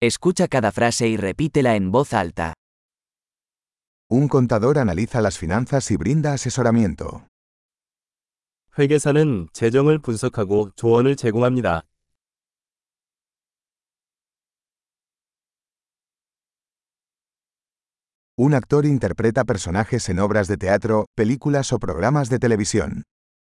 Escucha cada frase y repítela en voz alta. Un contador analiza las finanzas y brinda asesoramiento. 회계사는 재정을 분석하고 조언을 제공합니다. Un actor interpreta personajes en obras de teatro, películas o programas de televisión.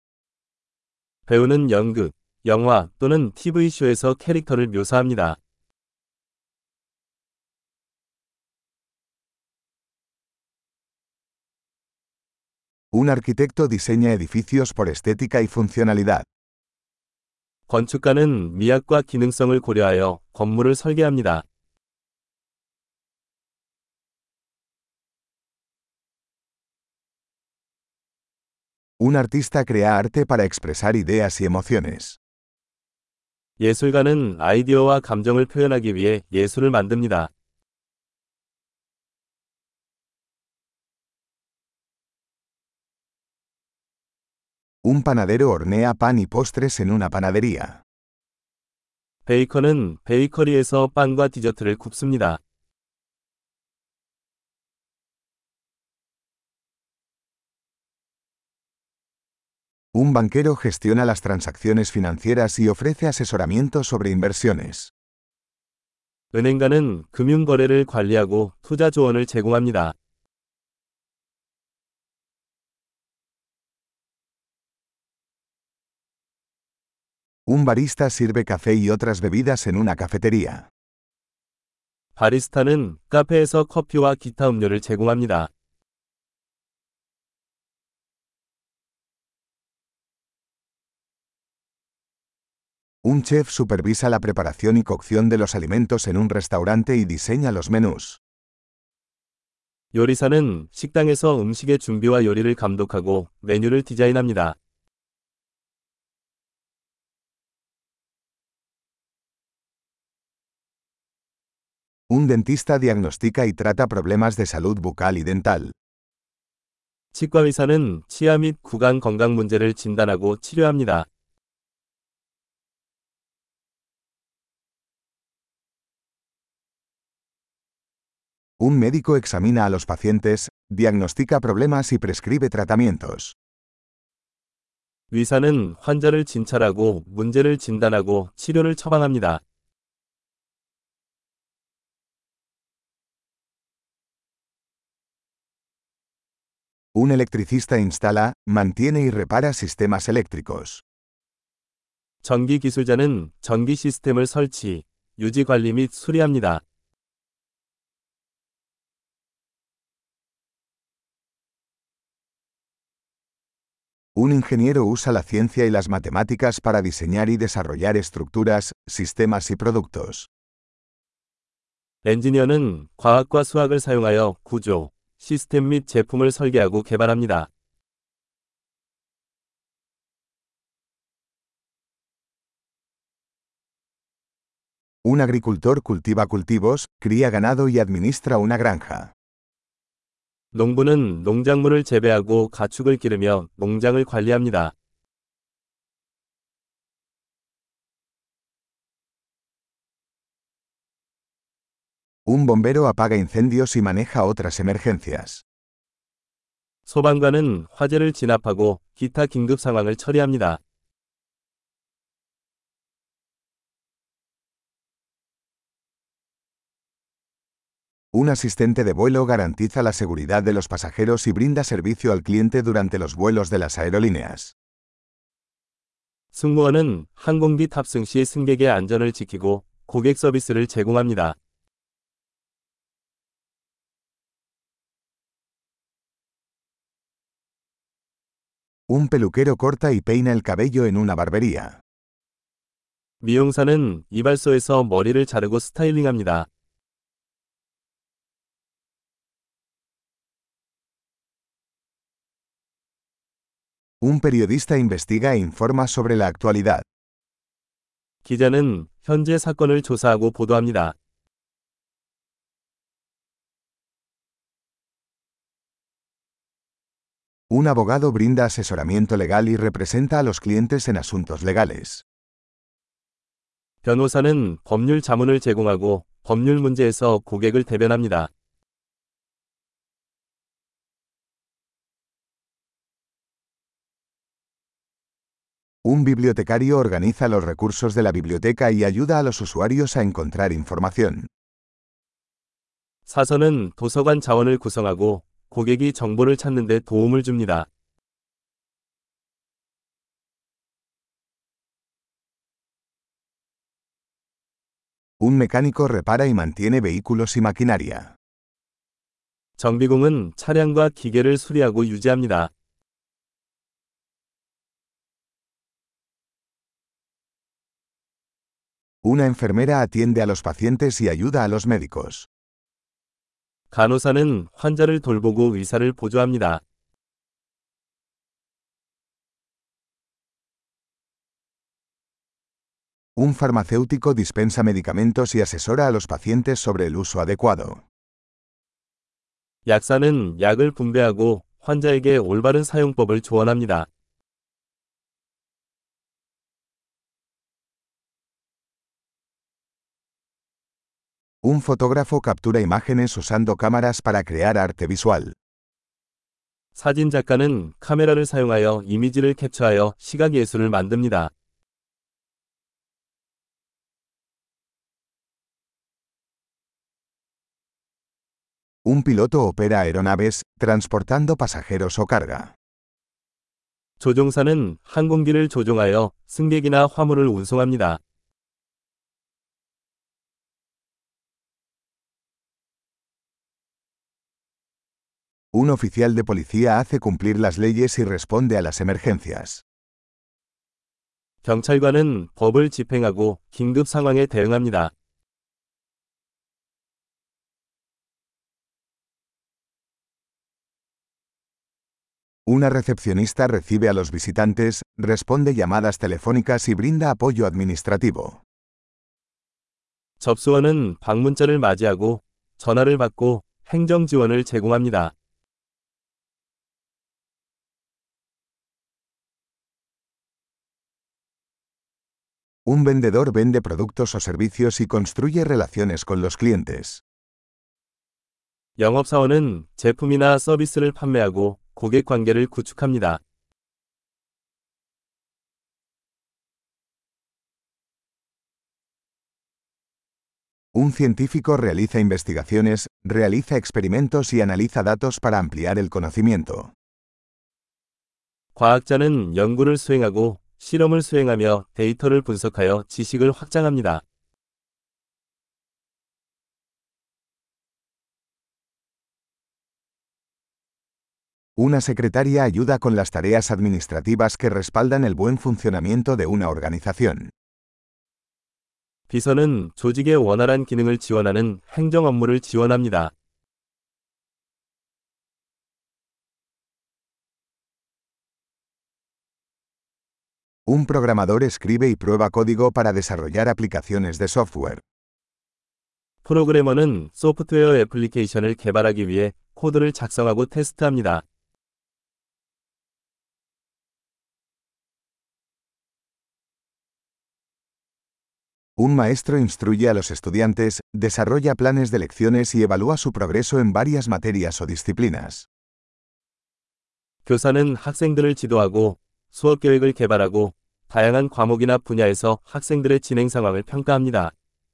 배우는 연극, 영화 또는 TV쇼에서 캐릭터를 묘사합니다. Un arquitecto diseña edificios por estética y funcionalidad. 건축가는 미학과 기능성을 고려하여 건물을 설계합니다. Un artista crea arte para expresar ideas y emociones. 예술가는 아이디어와 감정을 표현하기 위해 예술을 만듭니다. Un panadero hornea pan y postres en una panadería. 베이커는 베이커리에서 빵과 디저트를 굽습니다. Un banquero gestiona las transacciones financieras y ofrece asesoramiento sobre inversiones. 은행가는 금융거래를 관리하고 투자 조언을 제공합니다. Un barista sirve café y otras bebidas en una cafetería. 바리스타는 카페에서 커피와 기타 음료를 제공합니다. Un chef supervisa la preparación y cocción de los alimentos en un restaurante y diseña los menús. 요리사는 식당에서 음식의 준비와 요리를 감독하고 메뉴를 디자인합니다. Un dentista diagnostica y trata problemas de salud bucal y dental. 치과의사는 치아 및 구강 건강 문제를 진단하고 치료합니다. Un médico examina a los pacientes, diagnostica problemas y prescribe tratamientos. 의사는 환자를 진찰하고 문제를 진단하고 치료를 처방합니다. Un electricista instala, mantiene y repara sistemas eléctricos. 전기 기술자는 전기 시스템을 설치, 유지 관리 및 수리합니다. Un ingeniero usa la ciencia y las matemáticas para diseñar y desarrollar estructuras, sistemas y productos. 엔지니어는 과학과 수학을 사용하여 구조, 시스템 및 제품을 설계하고 개발합니다. Un agricultor cultiva cultivos, cría ganado y administra una granja. 농부는 농작물을 재배하고 가축을 기르며 농장을 관리합니다. Un bombero apaga incendios y maneja otras emergencias. 소방관은 화재를 진압하고 기타 긴급 상황을 처리합니다. Un asistente de vuelo garantiza la seguridad de los pasajeros y brinda servicio al cliente durante los vuelos de las aerolíneas. 승무원은 항공기 탑승 시 승객의 안전을 지키고 고객 서비스를 제공합니다. Un peluquero corta y peina el cabello en una barbería. 미용사는 이발소에서 머리를 자르고 스타일링합니다. Un periodista investiga e informa sobre la actualidad. 기자는 현재 사건을 조사하고 보도합니다. Un abogado brinda asesoramiento legal y representa a los clientes en asuntos legales. 변호사는 법률 자문을 제공하고 법률 문제에서 고객을 대변합니다. Un bibliotecario organiza los recursos de la biblioteca y ayuda a los usuarios a encontrar información. 사서는 도서관 자원을 구성하고 고객이 정보를 찾는 데 도움을 줍니다. Un mecánico repara y mantiene vehículos y maquinaria. 정비공은 차량과 기계를 수리하고 유지합니다. Una enfermera atiende a los pacientes y ayuda a los médicos. 간호사는 환자를 돌보고 의사를 보조합니다. Un farmacéutico dispensa medicamentos y asesora a los pacientes sobre el uso adecuado. 약사는 약을 분배하고 환자에게 올바른 사용법을 조언합니다. Un fotógrafo captura imágenes usando cámaras para crear arte visual. 사진 작가는 카메라를 사용하여 이미지를 캡처하여 시각 예술을 만듭니다. Un piloto opera aeronaves, transportando pasajeros o carga. 조종사는 항공기를 조종하여 승객이나 화물을 운송합니다. Un oficial de policía hace cumplir las leyes y responde a las emergencias. 경찰관은 법을 집행하고 긴급 상황에 대응합니다. Una recepcionista recibe a los visitantes, responde llamadas telefónicas y brinda apoyo administrativo. 접수원은 방문자를 맞이하고 전화를 받고 행정 지원을 제공합니다. Un vendedor vende productos o servicios y construye relaciones con los clientes. 영업사원은 제품이나 서비스를 판매하고 고객 관계를 구축합니다. Un científico realiza investigaciones, realiza experimentos y analiza datos para ampliar el conocimiento. 과학자는 연구를 수행하고 실험을 수행하며 데이터를 분석하여 지식을 확장합니다. Una secretaria ayuda con las tareas administrativas que respaldan el buen funcionamiento de una organización. 비서는 조직의 원활한 기능을 지원하는 행정 업무를 지원합니다. Un programador escribe y prueba código para desarrollar aplicaciones de software. 프로그래머는 소프트웨어 애플리케이션을 개발하기 위해 코드를 작성하고 테스트합니다. Un maestro instruye a los estudiantes, desarrolla planes de lecciones y evalúa su progreso en varias materias o disciplinas. 교사는 학생들을 지도하고 수업 계획을 개발하고 다양한 과목이나 분야에서 학생들의 진행 상황을 평가합니다.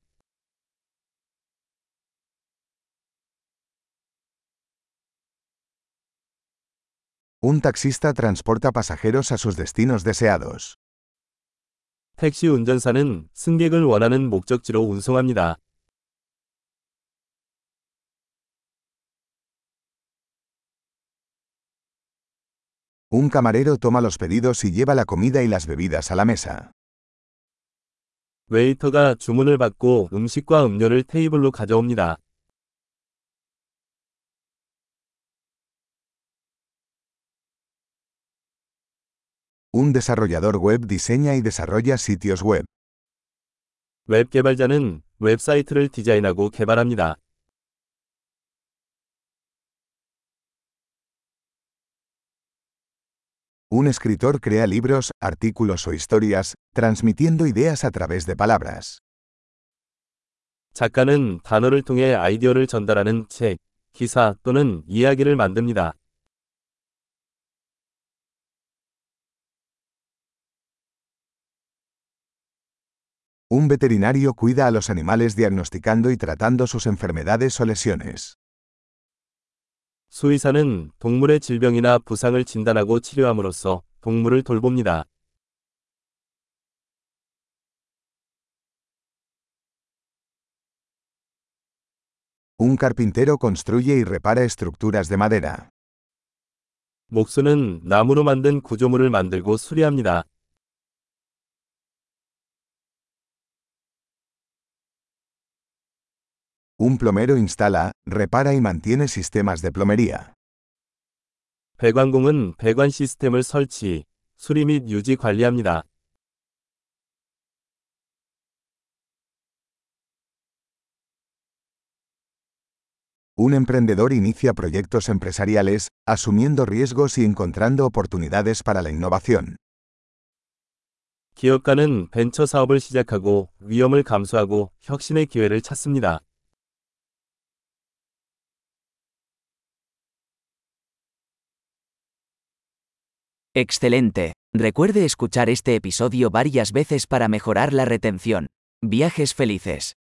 Un taxista transporta pasajeros a sus destinos deseados. 택시 운전사는 승객을 원하는 목적지로 운송합니다. Un camarero toma los pedidos y lleva la comida y las bebidas a la mesa. 웨이터가 주문을 받고 음식과 음료를 테이블로 가져옵니다. Un desarrollador web diseña y desarrolla sitios web. 웹 개발자는 웹사이트를 디자인하고 개발합니다. Un escritor crea libros, artículos o historias, transmitiendo ideas a través de palabras. 작가는 단어를 통해 아이디어를 전달하는 책, 기사 또는 이야기를 만듭니다. Un veterinario cuida a los animales diagnosticando y tratando sus enfermedades o lesiones. 수의사는 동물의 질병이나 부상을 진단하고 치료함으로써 동물을 돌봅니다. Un carpintero construye y repara estructuras de madera. 목수는 나무로 만든 구조물을 만들고 수리합니다. Un plomero instala, repara y mantiene sistemas de plomería. 배관공은 배관 시스템을 설치, 수리 및 유지 관리합니다. Un emprendedor inicia proyectos empresariales, asumiendo riesgos y encontrando oportunidades para la innovación. 기업가는 벤처 사업을 시작하고 위험을 감수하고 혁신의 기회를 찾습니다. Excelente. Recuerde escuchar este episodio varias veces para mejorar la retención. Viajes felices.